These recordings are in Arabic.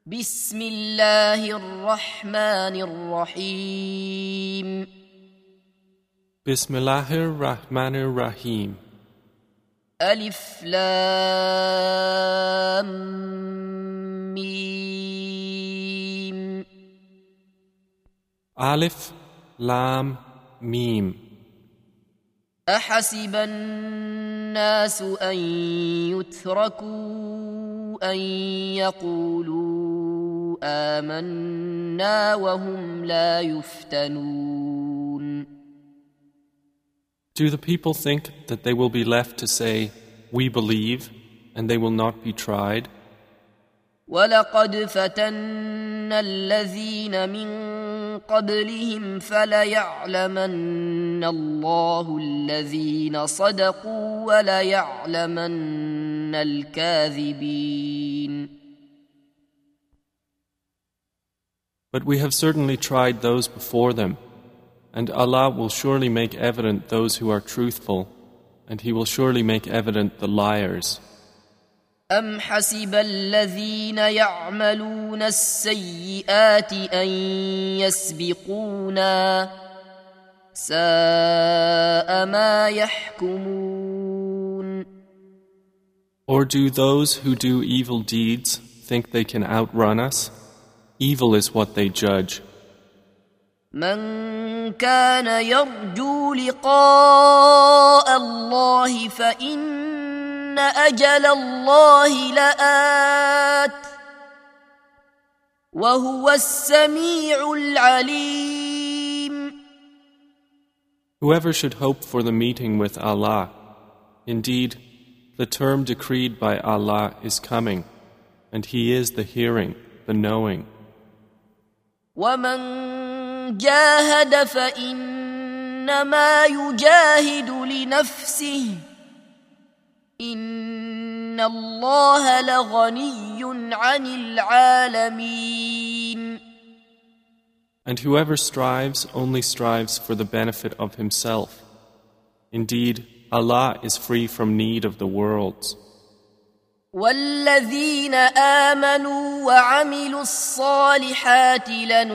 بسم الله الرحمن الرحيم Bismillahir Rahmanir Rahim. ألف لام ميم Alif Lam Mim. أحسب الناس أن يتركوا أن يقولوا آمنا وهم لا يفتنون. Do the people think that they will be left to say, "We believe," and they will not be tried? ولقد فتنا الذين من قبلهم فليعلمن الله الذين صدقوا وليعلمن الكاذبين. But we have certainly tried those before them, and Allah will surely make evident those who are truthful, and He will surely make evident the liars. أم حسب الذين يعملون السيئات أن يسبقونا ساء ما يحكمون. Or do those who do evil deeds think they can outrun us? Evil is what they judge. من كان يرجو لقاء الله فإن أجل الله لآت وهو السميع العليم. Whoever should hope for the meeting with Allah, indeed, the term decreed by Allah is coming, and He is the hearing, the knowing. ومن جاهد فإنما يجاهد لنفسه إن الله لغني عن العالمين. And whoever strives only strives for the benefit of himself. Indeed, Allah is free from need of the worlds. والذين آمنوا وعملوا الصالحات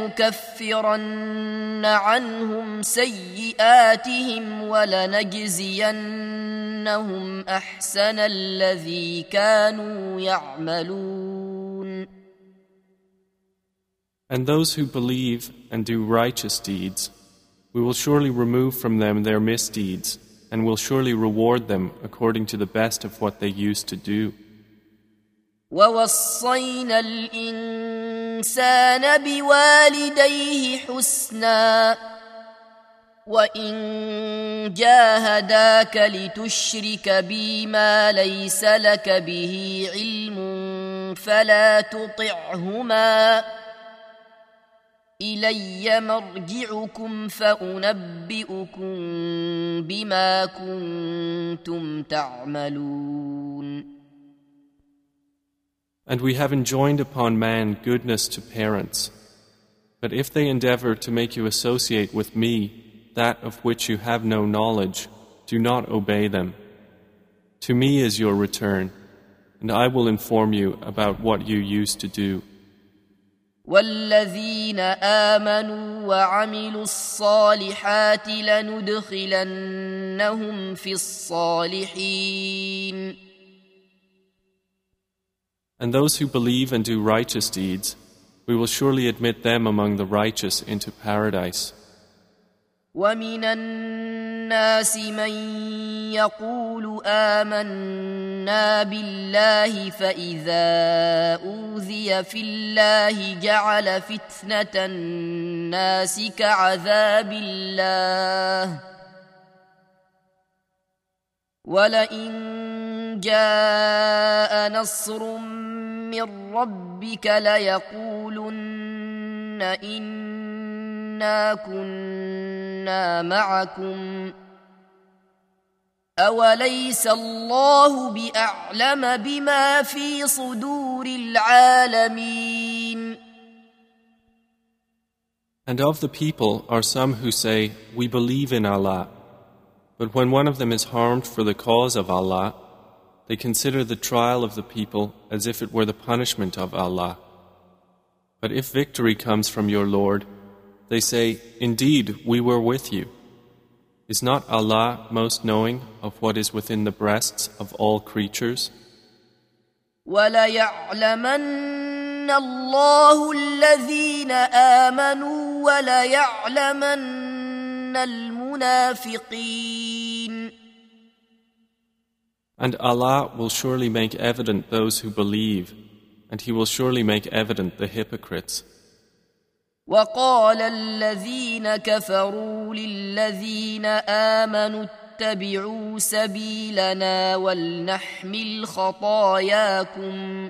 لنكفرن عنهم سيئاتهم ولنجزينهم أحسن الذي كانوا يعملون. And those who believe and do righteous deeds, we will surely remove from them their misdeeds, and will surely reward them according to the best of what they used to do. ووصينا الإنسان بوالديه حسنا وإن جاهداك لتشرك بي ما ليس لك به علم فلا تطعهما إلي مرجعكم فأنبئكم بما كنتم تعملون. And we have enjoined upon man goodness to parents. But if they endeavor to make you associate with me that of which you have no knowledge, do not obey them. To me is your return, and I will inform you about what you used to do. والذين آمنوا وعملوا الصالحات لندخلنهم في الصالحين. And those who believe and do righteous deeds, we will surely admit them among the righteous into paradise. ومن الناس من يقول آمنا بالله فإذا أوذي في الله جعل فتنة الناس كعذاب الله ولئن جاء نصر من ربك ليقولن إنا كنا معكم أوليس الله بأعلم بما في صدور العالمين. And of the people are some who say, "We believe in Allah," but when one of them is harmed for the cause of Allah, They consider the trial of the people as if it were the punishment of Allah. But if victory comes from your Lord, they say, Indeed, we were with you. Is not Allah most knowing of what is within the breasts of all creatures? وَلَيَعْلَمَنَّ اللَّهُ الَّذِينَ آمَنُوا وَلَيَعْلَمَنَّ الْمُنَافِقِينَ. And Allah will surely make evident those who believe, and He will surely make evident the hypocrites. وَقَالَ الَّذِينَ كَفَرُوا لِلَّذِينَ آمَنُوا اتَّبِعُوا سَبِيلَنَا وَلْنَحْمِلْ خَطَايَاكُمْ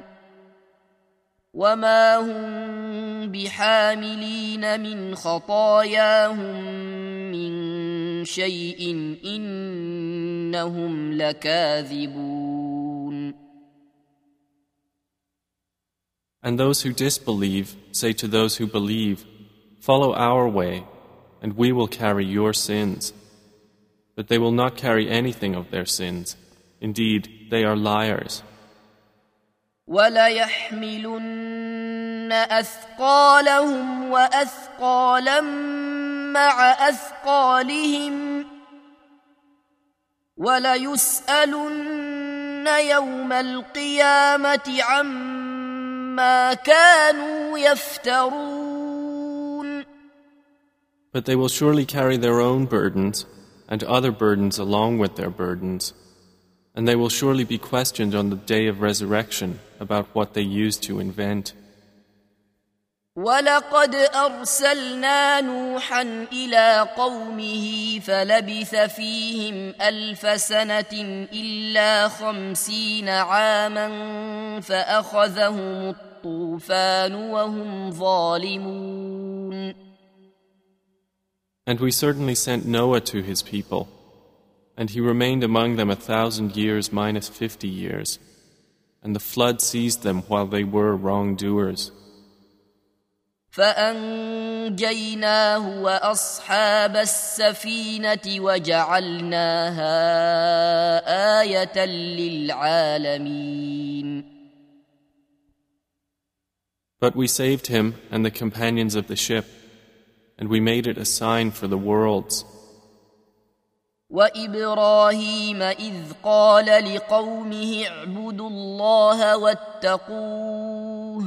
وَمَا هُمْ بِحَامِلِينَ مِنْ خَطَايَاهُمْ مِنْ شَيْءٍ إِنَّهُمْ لَكَاذِبُونَ. And those who disbelieve say to those who believe, Follow our way, and we will carry your sins. But they will not carry anything of their sins. Indeed, they are liars. وَلَيَحْمِلُنَّ أَثْقَالَهُمْ وَأَثْقَالًا مَعَ أَثْقَالِهِمْ وَلَيُسْأَلُنَّ يَوْمَ الْقِيَامَةِ عَمَّا كَانُوا يَفْتَرُونَ. But they will surely carry their own burdens and other burdens along with their burdens, and they will surely be questioned on the day of resurrection about what they used to invent. وَلَقَدْ أَرْسَلْنَا نُوحًا إِلَىٰ قَوْمِهِ فَلَبِثَ فِيهِمْ 1000 سَنَةٍ إِلَّا 50 عَامًا فَأَخَذَهُمُ الطُّوفَانُ وَهُمْ ظَالِمُونَ. And we certainly sent Noah to his people, and he remained among them 1,000 years minus 50 years, and the flood seized them while they were wrongdoers. فَأَنْجَيْنَاهُ وَأَصْحَابَ السَّفِينَةِ وَجَعَلْنَاهَا آيَةً لِلْعَالَمِينَ. But we saved him and the companions of the ship, and we made it a sign for the worlds. وَإِبْرَاهِيمَ إِذْ قَالَ لِقَوْمِهِ اعْبُدُوا اللَّهَ وَاتَّقُوهُ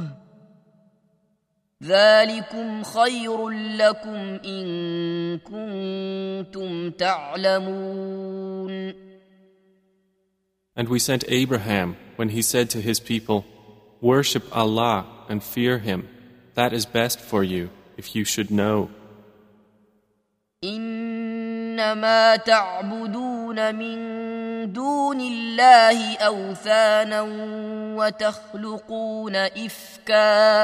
ذَلِكُمْ خَيْرٌ لَكُمْ إِن كُنتُمْ تَعْلَمُونَ. And we sent Abraham when he said to his people, Worship Allah and fear Him. That is best for you, if you should know. إنما تعبدون من دون الله أوثانا وتخلقون إفكا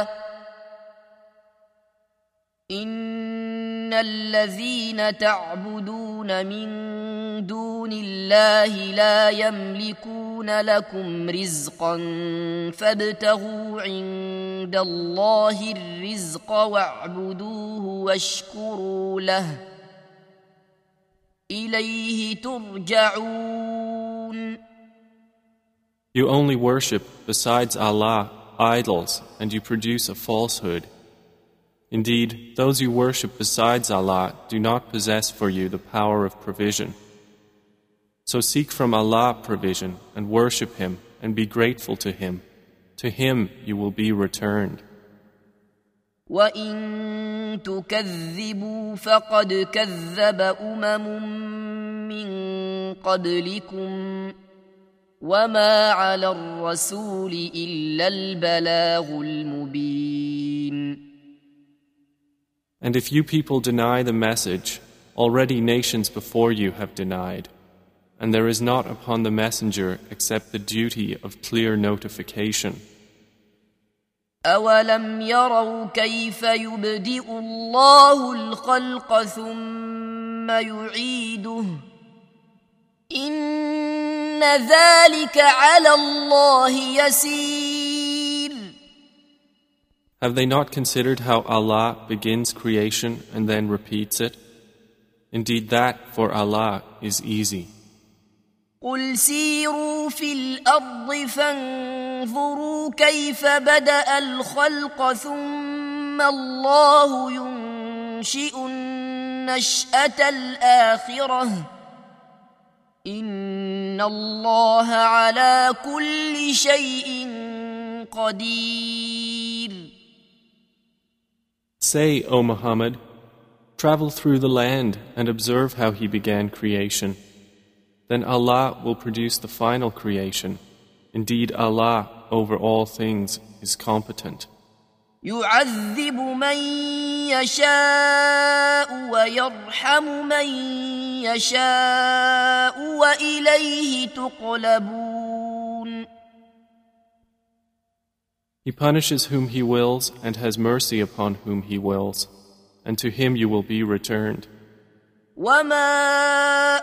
إن الذين تعبدون من دون الله لا يملكون لكم رزقا فابتغوا عند الله الرزق واعبدوه واشكروا له إليه ترجعون. You only worship besides Allah idols, and you produce a falsehood. Indeed, those you worship besides Allah do not possess for you the power of provision. So seek from Allah provision and worship Him and be grateful to Him. To Him you will be returned. وَإِن تُكَذِّبُوا فَقَدْ كَذَّبَ مِن قَبْلِكُمْ وَمَا عَلَى الرَّسُولِ إِلَّا الْبَلَاغُ الْمُبِينُ. And if you people deny the message, already nations before you have denied, and there is not upon the messenger except the duty of clear notification. أَوَلَمْ يَرَوْا كَيْفَ يُبْدِئُ اللَّهُ الْخَلْقَ ثُمَّ يُعِيدُهُ إِنَّ ذَلِكَ عَلَى اللَّهِ يَسِيرٌ. Have they not considered how Allah begins creation and then repeats it? Indeed, that for Allah is easy. قُلْ سِيرُوا فِي الْأَرْضِ فَانظُرُوا كَيْفَ بَدَأَ الْخَلْقَ ثُمَّ ثم الله ينشئ النشأة الآخرة إن الله على كل شيء قدير. Say, O Muhammad, travel through the land and observe how He began creation. Then Allah will produce the final creation. Indeed, Allah over all things is competent. يعذب من يشاء ويرحم من يشاء وإليه تقلبون. He punishes whom He wills and has mercy upon whom He wills, and to Him you will be returned. وما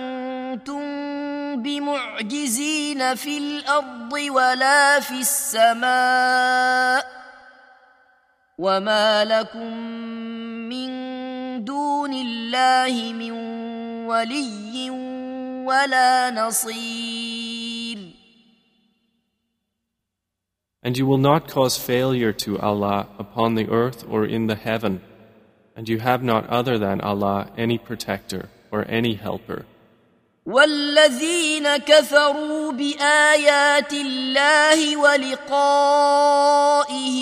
أنتم بمعجزين في الأرض ولا في السماء وما لكم من دون الله من ولي ولا نصير. And you will not cause failure to Allah upon the earth or in the heaven, and you have not other than Allah any protector or any helper. والذين كفروا بآيات الله ولقائه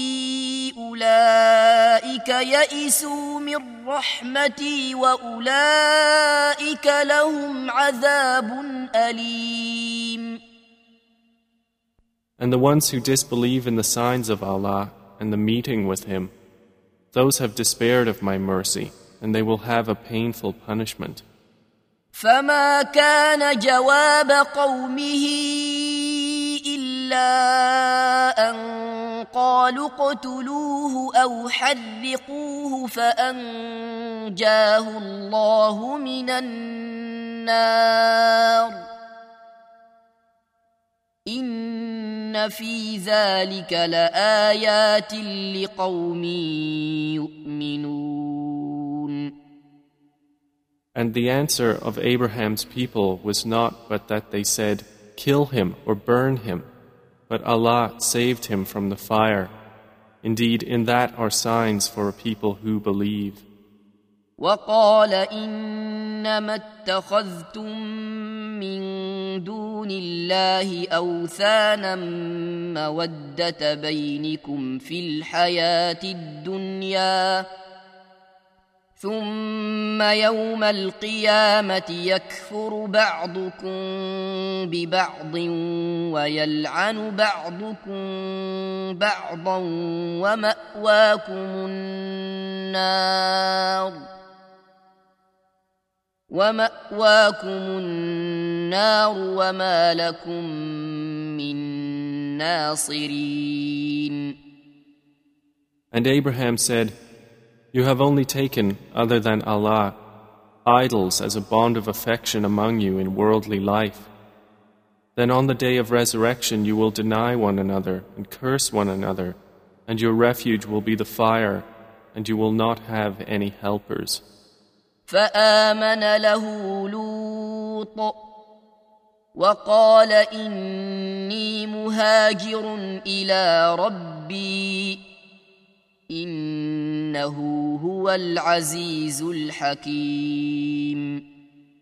أولئك يئسوا من رحمتي وأولئك لهم عذاب أليم. And the ones who disbelieve in the signs of Allah and the meeting with Him, those have despaired of my mercy, and they will have a painful punishment. فما كان جواب قومه إلا أن قالوا اقتلوه أو حرقوه فأنجاه الله من النار إن في ذلك لآيات لقوم يؤمنون. And the answer of Abraham's people was not but that they said, "Kill him or burn him," but Allah saved him from the fire. Indeed, in that are signs for a people who believe. وقال إنما اتخذتم من دون الله أوثانا مودة بينكم في الحياة الدنيا ثم يوم القيامة يكفر بعضكم ببعض ويلعن بعضكم بعضا ومأواكم النار وما لكم من ناصرين. And Abraham said, "You have only taken, other than Allah, idols as a bond of affection among you in worldly life. Then on the day of resurrection you will deny one another and curse one another, and your refuge will be the fire, and you will not have any helpers." فآمن له لوط وقال إني مهاجر إلى ربي إنه هو العزيز الحكيم.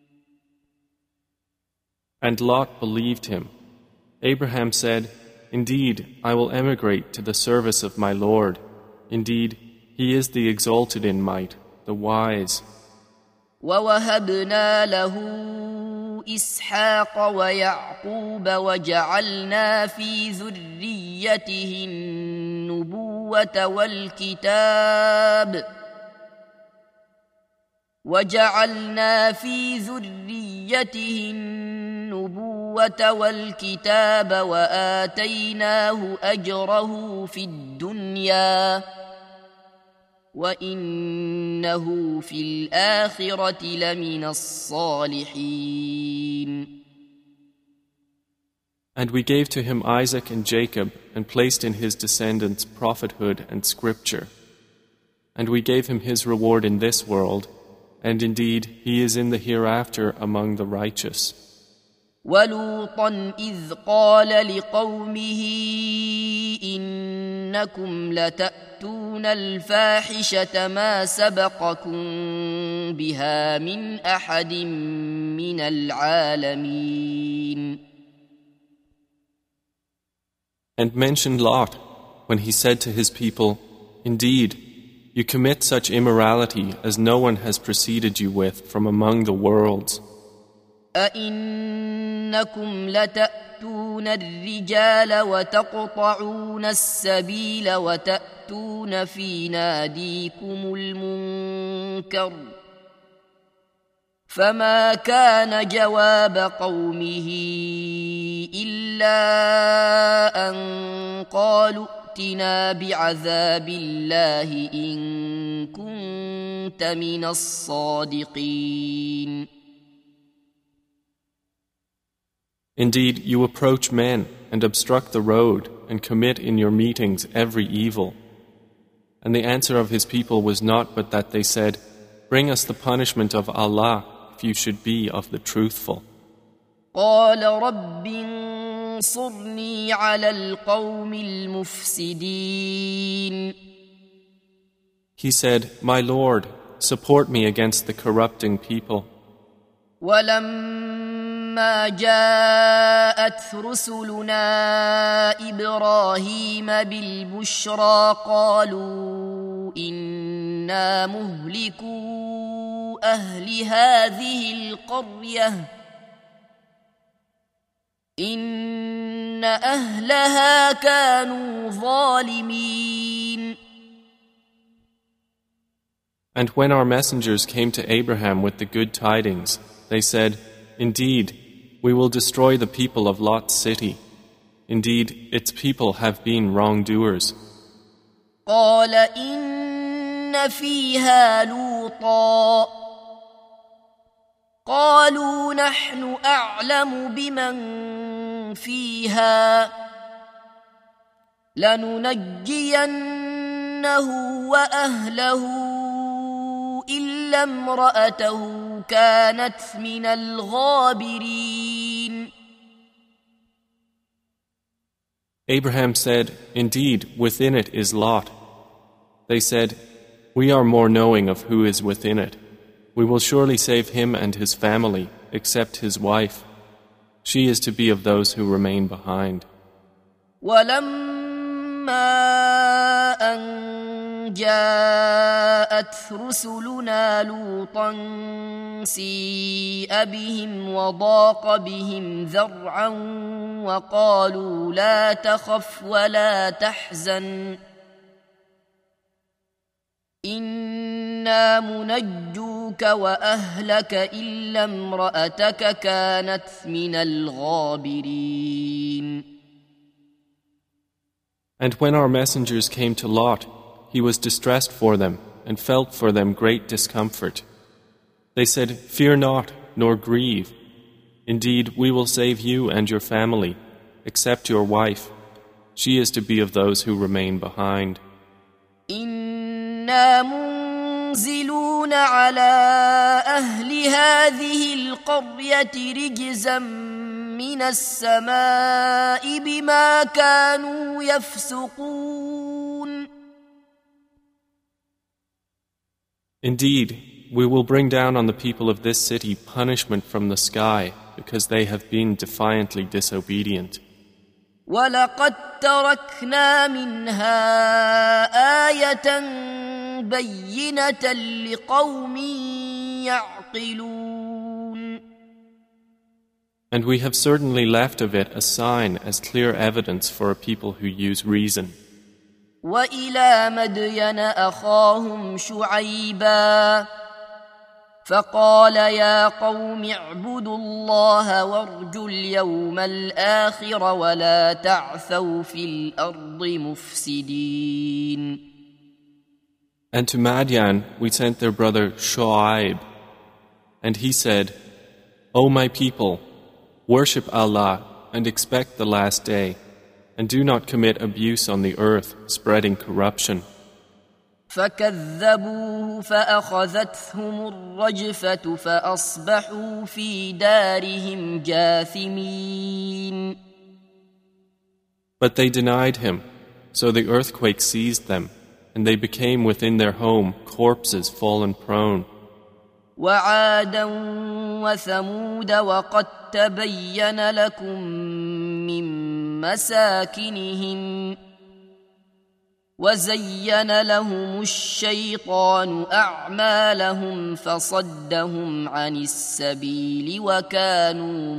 And Lot believed him. Abraham said, "Indeed, I will emigrate to the service of my Lord. Indeed, He is the exalted in might, the wise." ووهبنا له إسحاق ويعقوب وجعلنا في ذريته النبوة والكتاب وآتيناه أجره في الدنيا وإنه في الآخرة لمن الصالحين. And we gave to him Isaac and Jacob and placed in his descendants prophethood and scripture. And we gave him his reward in this world, and indeed he is in the hereafter among the righteous. ولوطا إذ قال لقومه إنكم لتأتون الفاحشة ما سبقكم بها من أحد من العالمين. And mention Lot when he said to his people, Indeed, you commit such immorality as no one has preceded you with from among the worlds. أئنكم لتأتون الرجال وتقطعون السبيل وتأتون في ناديكم المنكر فما كان جواب قومه إلا أن قالوا ائتنا بعذاب الله إن كنت من الصادقين. Indeed, you approach men and obstruct the road and commit in your meetings every evil. And the answer of his people was not but that they said, Bring us the punishment of Allah if you should be of the truthful. قال رب انصرني على القوم المفسدين. He said, My Lord, support me against the corrupting people. ولما جاءت رسلنا إبراهيم بالبشرى قالوا إنا مهلكو أهل هذه القرية إن أهلها كانوا ظالمين. And when our messengers came to Abraham with the good tidings, they said, Indeed, we will destroy the people of Lot's city. Indeed, its people have been wrongdoers. قال إن فيها لوطا قالوا نحن أعلم بمن فيها لننجينه وأهله إلا امرأته كانت من الغابرين. Abraham said, Indeed, within it is Lot. They said, We are more knowing of who is within it. We will surely save him and his family, except his wife. She is to be of those who remain behind. ولما أن جاءت رسلنا لوطا سيء بهم وضاق بهم ذرعا وقالوا لا تخف ولا تحزن إنا منجوك وأهلك إلا امرأتك كانت من الغابرين. And when our messengers came to Lot, he was distressed for them and felt for them great discomfort. They said, Fear not, nor grieve. Indeed, we will save you and your family, except your wife. She is to be of those who remain behind. إنا منزلون على أهل هذه القرية رجزا من السماء بما كانوا يفسقون. Indeed, we will bring down on the people of this city punishment from the sky because they have been defiantly disobedient. ولقد تركنا منها آية بينة لقوم يعقلون. And we have certainly left of it a sign as clear evidence for a people who use reason. وإلى مدين أخاهم شعيبا فقال يا قوم اعبدوا الله وارجوا اليوم الآخر ولا تعثوا في الأرض مفسدين. And to Madian we sent their brother Shu'aib, and he said, O my people, worship Allah and expect the last day, and do not commit abuse on the earth, spreading corruption. فكذبوه فأخذتهم الرجفة فأصبحوا في دارهم جاثمين. But they denied him, so the earthquake seized them, and they became within their home corpses fallen prone. وعادا وثمود وقد تبين لكم من مساكنهم وزين لهم الشيطان أعمالهم فصدهم عن السبيل وكانوا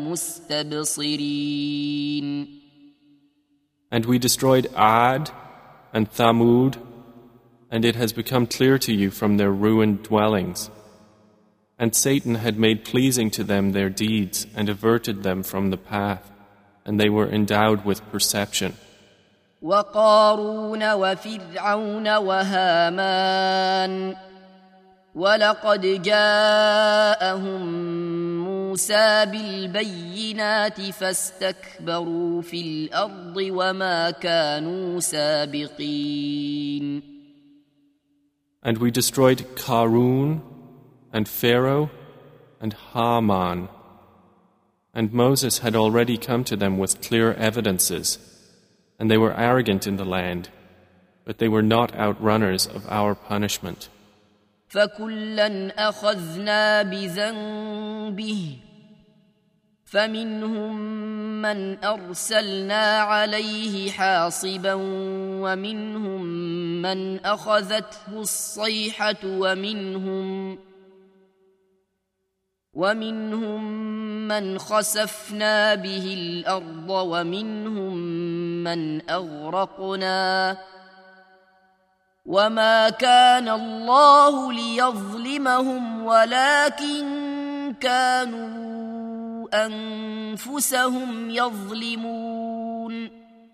مستبصرين. And we destroyed Ad and Thamud, and it has become clear to you from their ruined dwellings. And Satan had made pleasing to them their deeds and averted them from the path, and they were endowed with perception. وقارون وفرعون وهامان ولقد جاءهم موسى بالبينات فاستكبروا في الأرض وما كانوا سابقين. And we destroyed Qarun and Pharaoh and Haman. And Moses had already come to them with clear evidences, and they were arrogant in the land, but they were not outrunners of our punishment. فَكُلًّا أَخَذْنَا بِذَنبِهِ فَمِنْهُمْ مَنْ أَرْسَلْنَا عَلَيْهِ حَاصِبًا وَمِنْهُمْ مَنْ أَخَذَتْهُ الصَّيْحَةُ وَمِنْهُمْ مَنْ خَسَفْنَا بِهِ الْأَرْضَ وَمِنْهُمْ مَنْ أَغْرَقْنَا وَمَا كَانَ اللَّهُ لِيَظْلِمَهُمْ وَلَكِنْ كَانُوا أَنفُسَهُمْ يَظْلِمُونَ.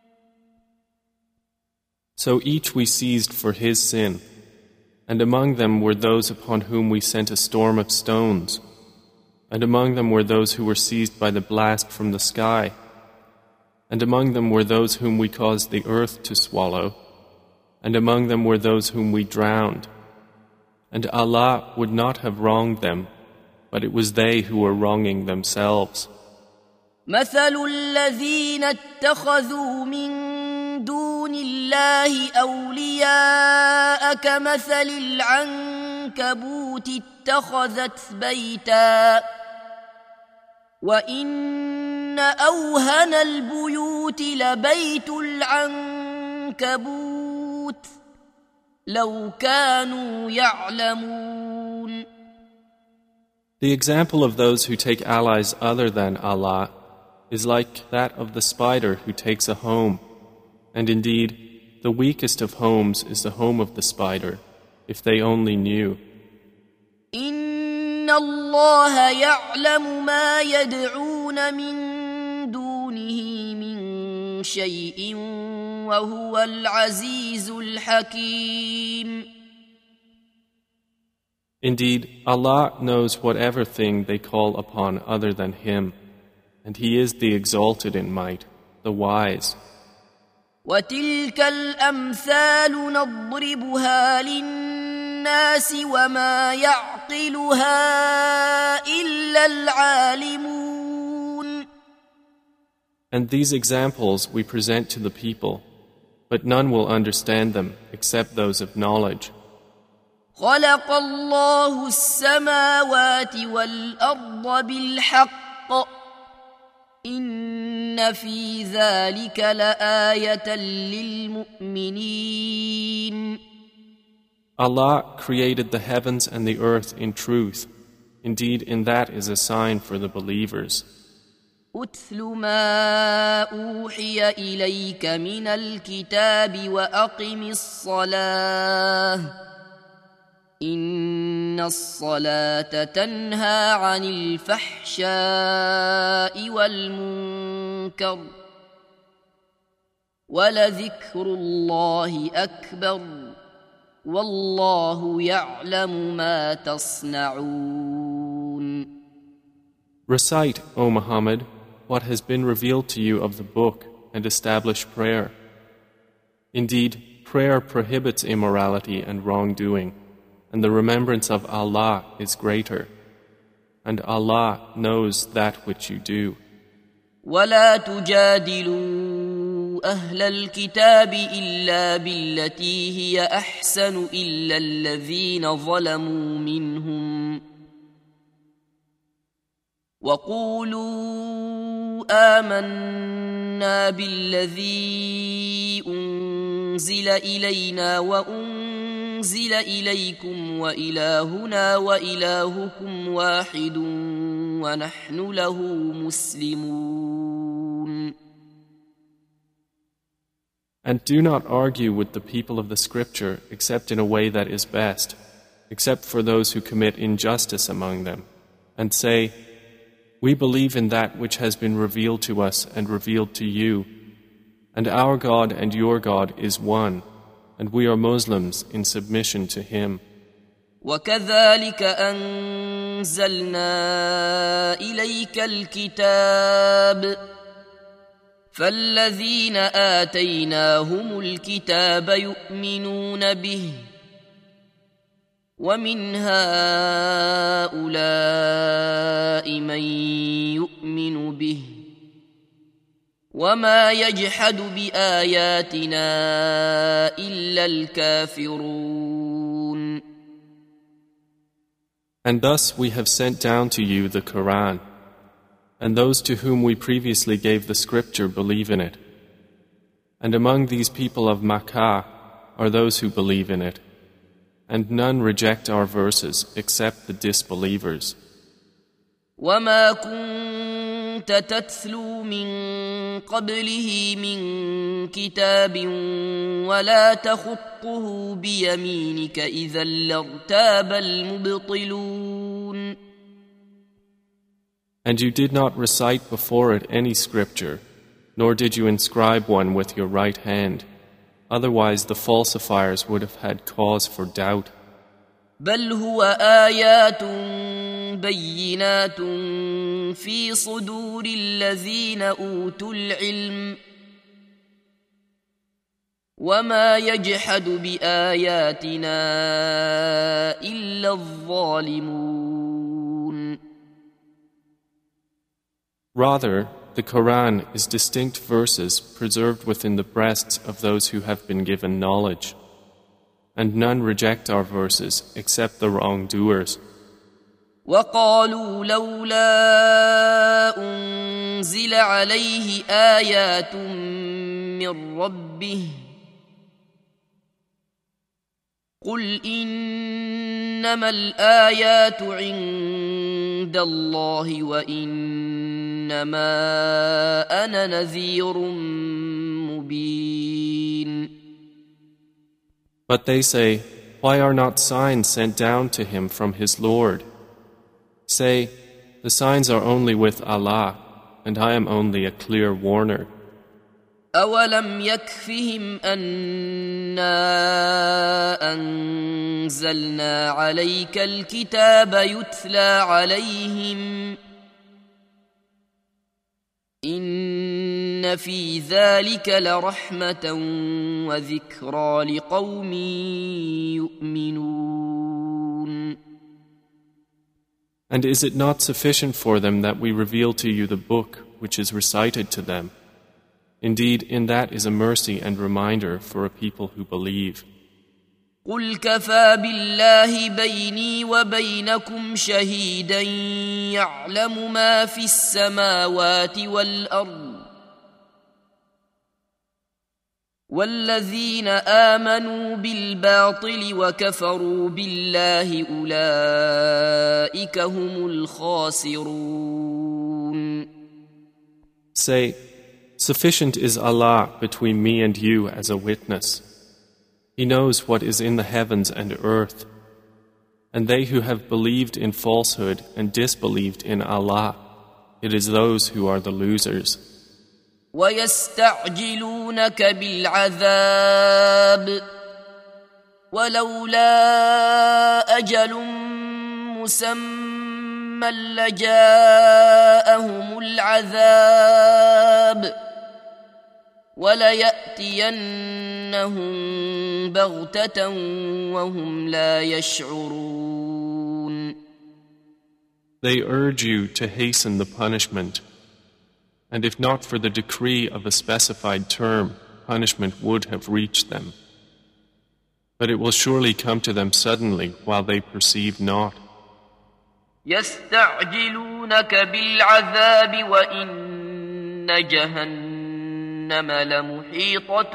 So each we seized for his sin, and among them were those upon whom we sent a storm of stones, and among them were those who were seized by the blast from the sky, and among them were those whom we caused the earth to swallow, and among them were those whom we drowned. And Allah would not have wronged them, but it was they who were wronging themselves. مثل الذين اتخذوا من دون الله أولياء كمثل العنكبوت اتخذت بيتا وإن أوهن البيوت لبيت العنكبوت لو كانوا يعلمون. The example of those who take allies other than Allah is like that of the spider who takes a home, and indeed, the weakest of homes is the home of the spider, if they only knew. إن الله يعلم ما يدعون من دونه من شيء وهو العزيز الحكيم. Indeed, Allah knows whatever thing they call upon other than Him, and He is the exalted in might, the wise. وتلك الأمثال نضربها للناس وما يعقلها إلا العالمون. And these examples we present to the people, but none will understand them except those of knowledge. خلق الله السماوات والأرض بالحق إن في ذلك لآية للمؤمنين. Allah created the heavens and the earth in truth. Indeed, in that is a sign for the believers. أتل ما أوحي إليك من الكتاب وأقم الصلاة إن الصلاة تنهى عن الفحشاء والمنكر ولذكر الله أكبر والله يعلم ما تصنعون. Recite, O Muhammad, what has been revealed to you of the book and establish prayer. Indeed, prayer prohibits immorality and wrongdoing, and the remembrance of Allah is greater, and Allah knows that which you do. ولا تجادلوا أهل الكتاب إلا بالتي هي أحسن إلا الذين ظلموا منهم وقولوا آمنا بالذي أنزل إلينا وأنزل إليكم وإلهنا وإلهكم واحد ونحن له مسلمون. And do not argue with the people of the scripture except in a way that is best, except for those who commit injustice among them, and say, we believe in that which has been revealed to us and revealed to you, and our God and your God is one, and we are Muslims in submission to Him. وكذلك أنزلنا إليك الكتاب فالذين آتيناهم الكتاب يؤمنون به ومن هؤلاء من يؤمن به وما يجحد بآياتنا إلا الكافرون. And thus we have sent down to you the Quran, and those to whom we previously gave the scripture believe in it. And among these people of Makkah are those who believe in it, and none reject our verses except the disbelievers. وما كنت تتلو من قبله من كتاب ولا تخطه بيمينك إذا لارتاب المبطلون. And you did not recite before it any scripture, nor did you inscribe one with your right hand. Otherwise the falsifiers would have had cause for doubt. بل هو آيات بينات في صدور الذين أوتوا العلم وما يجحد بآياتنا إلا الظالمون. Rather, the Quran is distinct verses preserved within the breasts of those who have been given knowledge, and none reject our verses except the wrongdoers. وقالوا لولا أنزل عليه آيات من ربه قل إنما الآيات عند الله وإنما أنا نذير مبين. But they say, why are not signs sent down to him from his Lord? Say, the signs are only with Allah, and I am only a clear warner. أولم يكفهم أنا أنزلنا عليك الكتاب يتلى عليهم إن في ذلك لرحمة وذكرى لقوم يؤمنون. And is it not sufficient for them that we reveal to you the book which is recited to them? Indeed, in that is a mercy and reminder for a people who believe. قل كفى بالله بيني وبينكم شهيدا يعلم ما في السماوات والأرض والذين آمنوا بالباطل وكفروا بالله أولئك هم الخاسرون. Say, sufficient is Allah between me and you as a witness. He knows what is in the heavens and earth. And they who have believed in falsehood and disbelieved in Allah, it is those who are the losers. ويستعجلونك بالعذاب ولولا أجل مسمى لجاءهم العذاب وليأتينهم بغتة وهم لا يشعرون. They urge you to hasten the punishment, and if not for the decree of a specified term, punishment would have reached them. But it will surely come to them suddenly while they perceive not. يستعجلونك بالعذاب وإن جهنم لمحيطة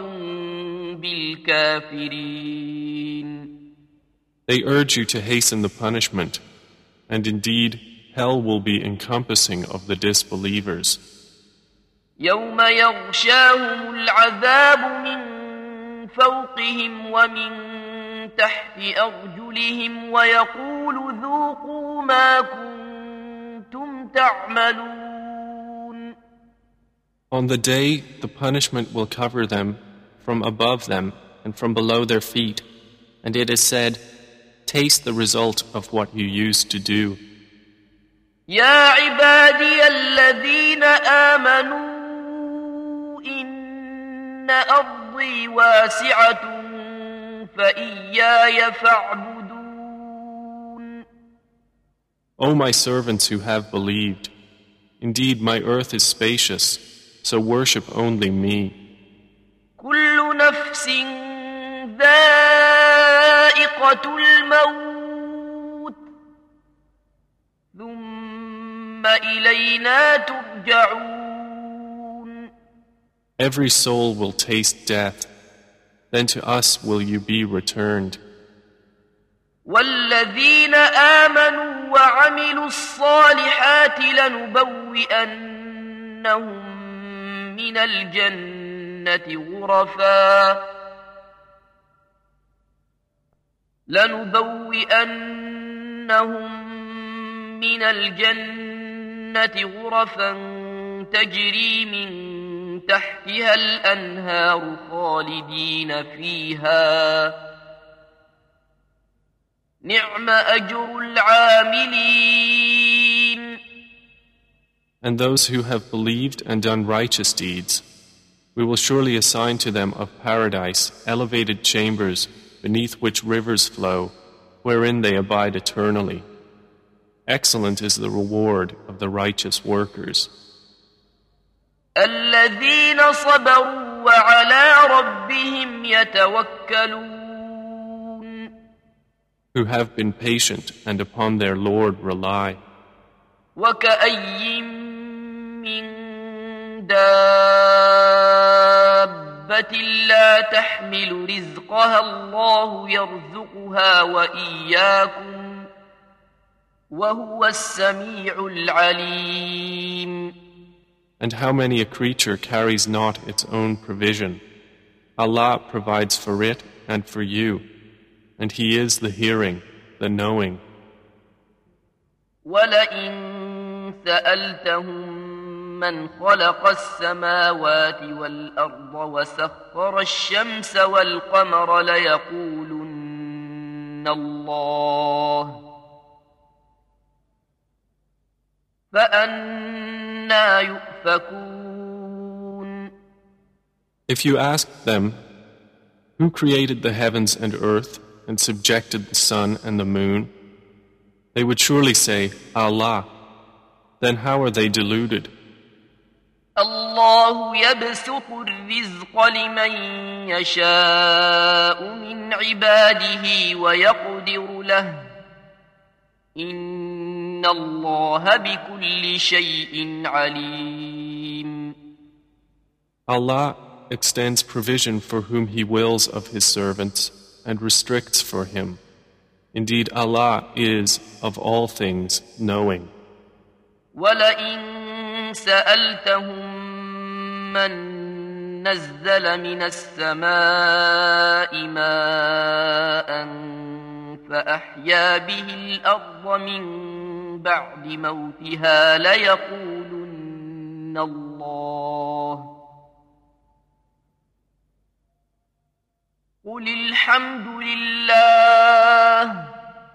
بالكافرين. They urge you to hasten the punishment, and indeed hell will be encompassing of the disbelievers. يوم يغشاهم العذاب من فوقهم ومن تحت أرجلهم ويقول ذوقوا ما كنتم تعملون. On the day, the punishment will cover them from above them and from below their feet, and it is said, taste the result of what you used to do. يا عبادي الذين آمنوا إن أرضي واسعة فإياي فاعبدون. O my servants who have believed, indeed my earth is spacious, so worship only me. كل نفس ذائقة الموت ثم إلينا ترجعون. Every soul will taste death, then to us will you be returned. والذين آمنوا وعملوا الصالحات لنبوئنهم من الجنة غرفا تجري من تحتها الأنهار خالدين فيها نعم أجر العاملين. And those who have believed and done righteous deeds, we will surely assign to them of paradise elevated chambers beneath which rivers flow, wherein they abide eternally. Excellent is the reward of the righteous workers. الذين صبروا وعلى ربهم يتوكلون. Who have been patient and upon their Lord rely. وكأي من دابة لا تحمل رزقها الله يرزقها وإياكم وهو السميع العليم. And how many a creature carries not its own provision? Allah provides for it and for you, and He is the hearing, the knowing. وَلَئِن سَأَلْتَهُم مَّنْ خَلَقَ السَّمَاوَاتِ وَالْأَرْضَ وَسَخَّرَ الشَّمْسَ وَالْقَمَرَ لَيَقُولُنَّ اللَّهُ فَأَنَّىٰ يُؤْفَكُونَ. If you asked them, who created the heavens and earth and subjected the sun and the moon, they would surely say, Allah. Then how are they deluded? الله يبسط الرزق لمن يشاء من عباده ويقدر له إن الله بكل شيء عليم. Allah extends provision for whom He wills of His servants and restricts for him. Indeed, Allah is of all things knowing. وَلَئِن سَأَلْتَهُم مَّن نَّزَّلَ مِنَ السَّمَاءِ مَاءً فَأَحْيَا بِهِ الْأَرْضَ مِن بَعْدِ مَوْتِهَا لَيَقُولُنَّ اللَّهُ قُلِ الْحَمْدُ لِلَّهِ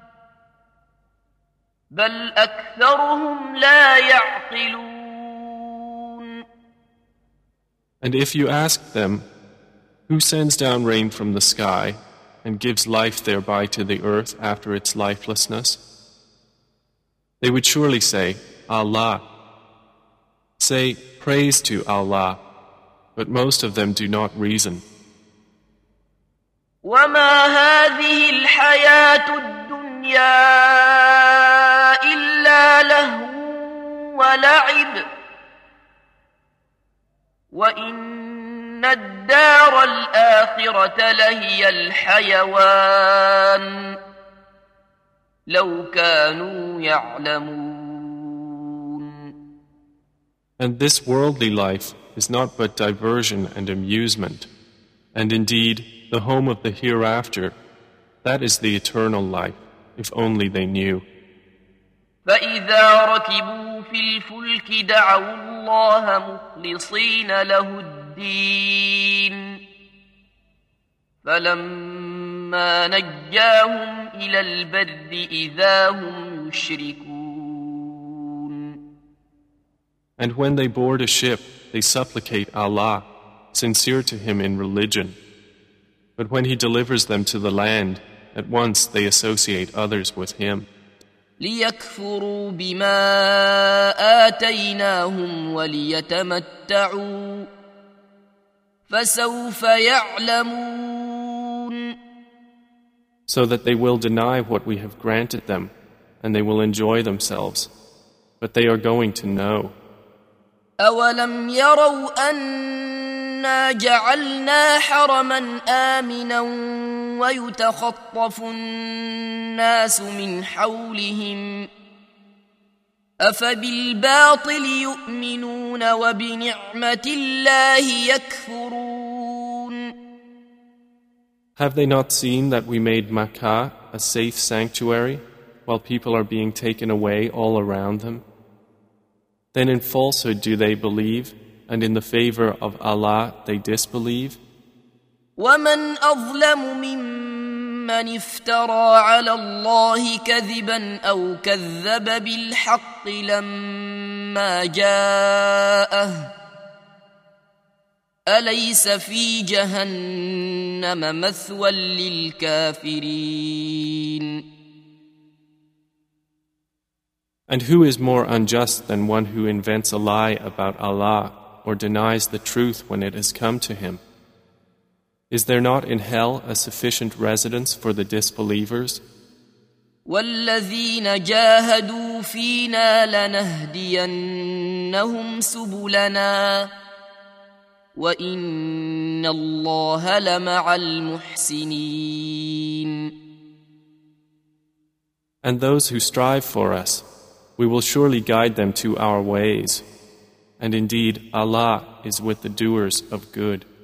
بل أكثرهم لا يعقلون. And if you ask them, who sends down rain from the sky and gives life thereby to the earth after its lifelessness? They would surely say, Allah. Say, praise to Allah, but most of them do not reason. وما هذه الحياة الدنيا إلا لهو ولعب وإن الدار الآخرة لهي الحيوان لو كانوا يعلمون. And this worldly life is not but diversion and amusement, and indeed the home of the hereafter, that is the eternal life, if only they knew. فإذا ركبوا في الفلك دعوا الله مخلصين له الدين فلما نجاهم إلى البر إذا هم يشركون. And when they board a ship, they supplicate Allah, sincere to Him in religion. But when He delivers them to the land, at once they associate others with Him. ليكفروا بما آتيناهم وليتمتعوا فسوف يعلمون. So that they will deny what we have granted them, and they will enjoy themselves. But they are going to know. أولم يروا أنا جعلنا حرما آمنا ويتخطف الناس من حولهم أفبالباطل يؤمنون وبنعمة الله يكفرون. Have they not seen that we made Makkah a safe sanctuary while people are being taken away all around them? Then in falsehood do they believe, and in the favor of Allah they disbelieve? ومن أظلم ممن افترى على الله كذبا أو كذب بالحق لما جاءه أليس في جهنم مثوى للكافرين. And who is more unjust than one who invents a lie about Allah or denies the truth when it has come to him? Is there not in hell a sufficient residence for the disbelievers? والذين جاهدوا فينا لنهدينهم سبلنا وإن الله لمع المحسنين. And those who strive for us, we will surely guide them to our ways. And indeed, Allah is with the doers of good.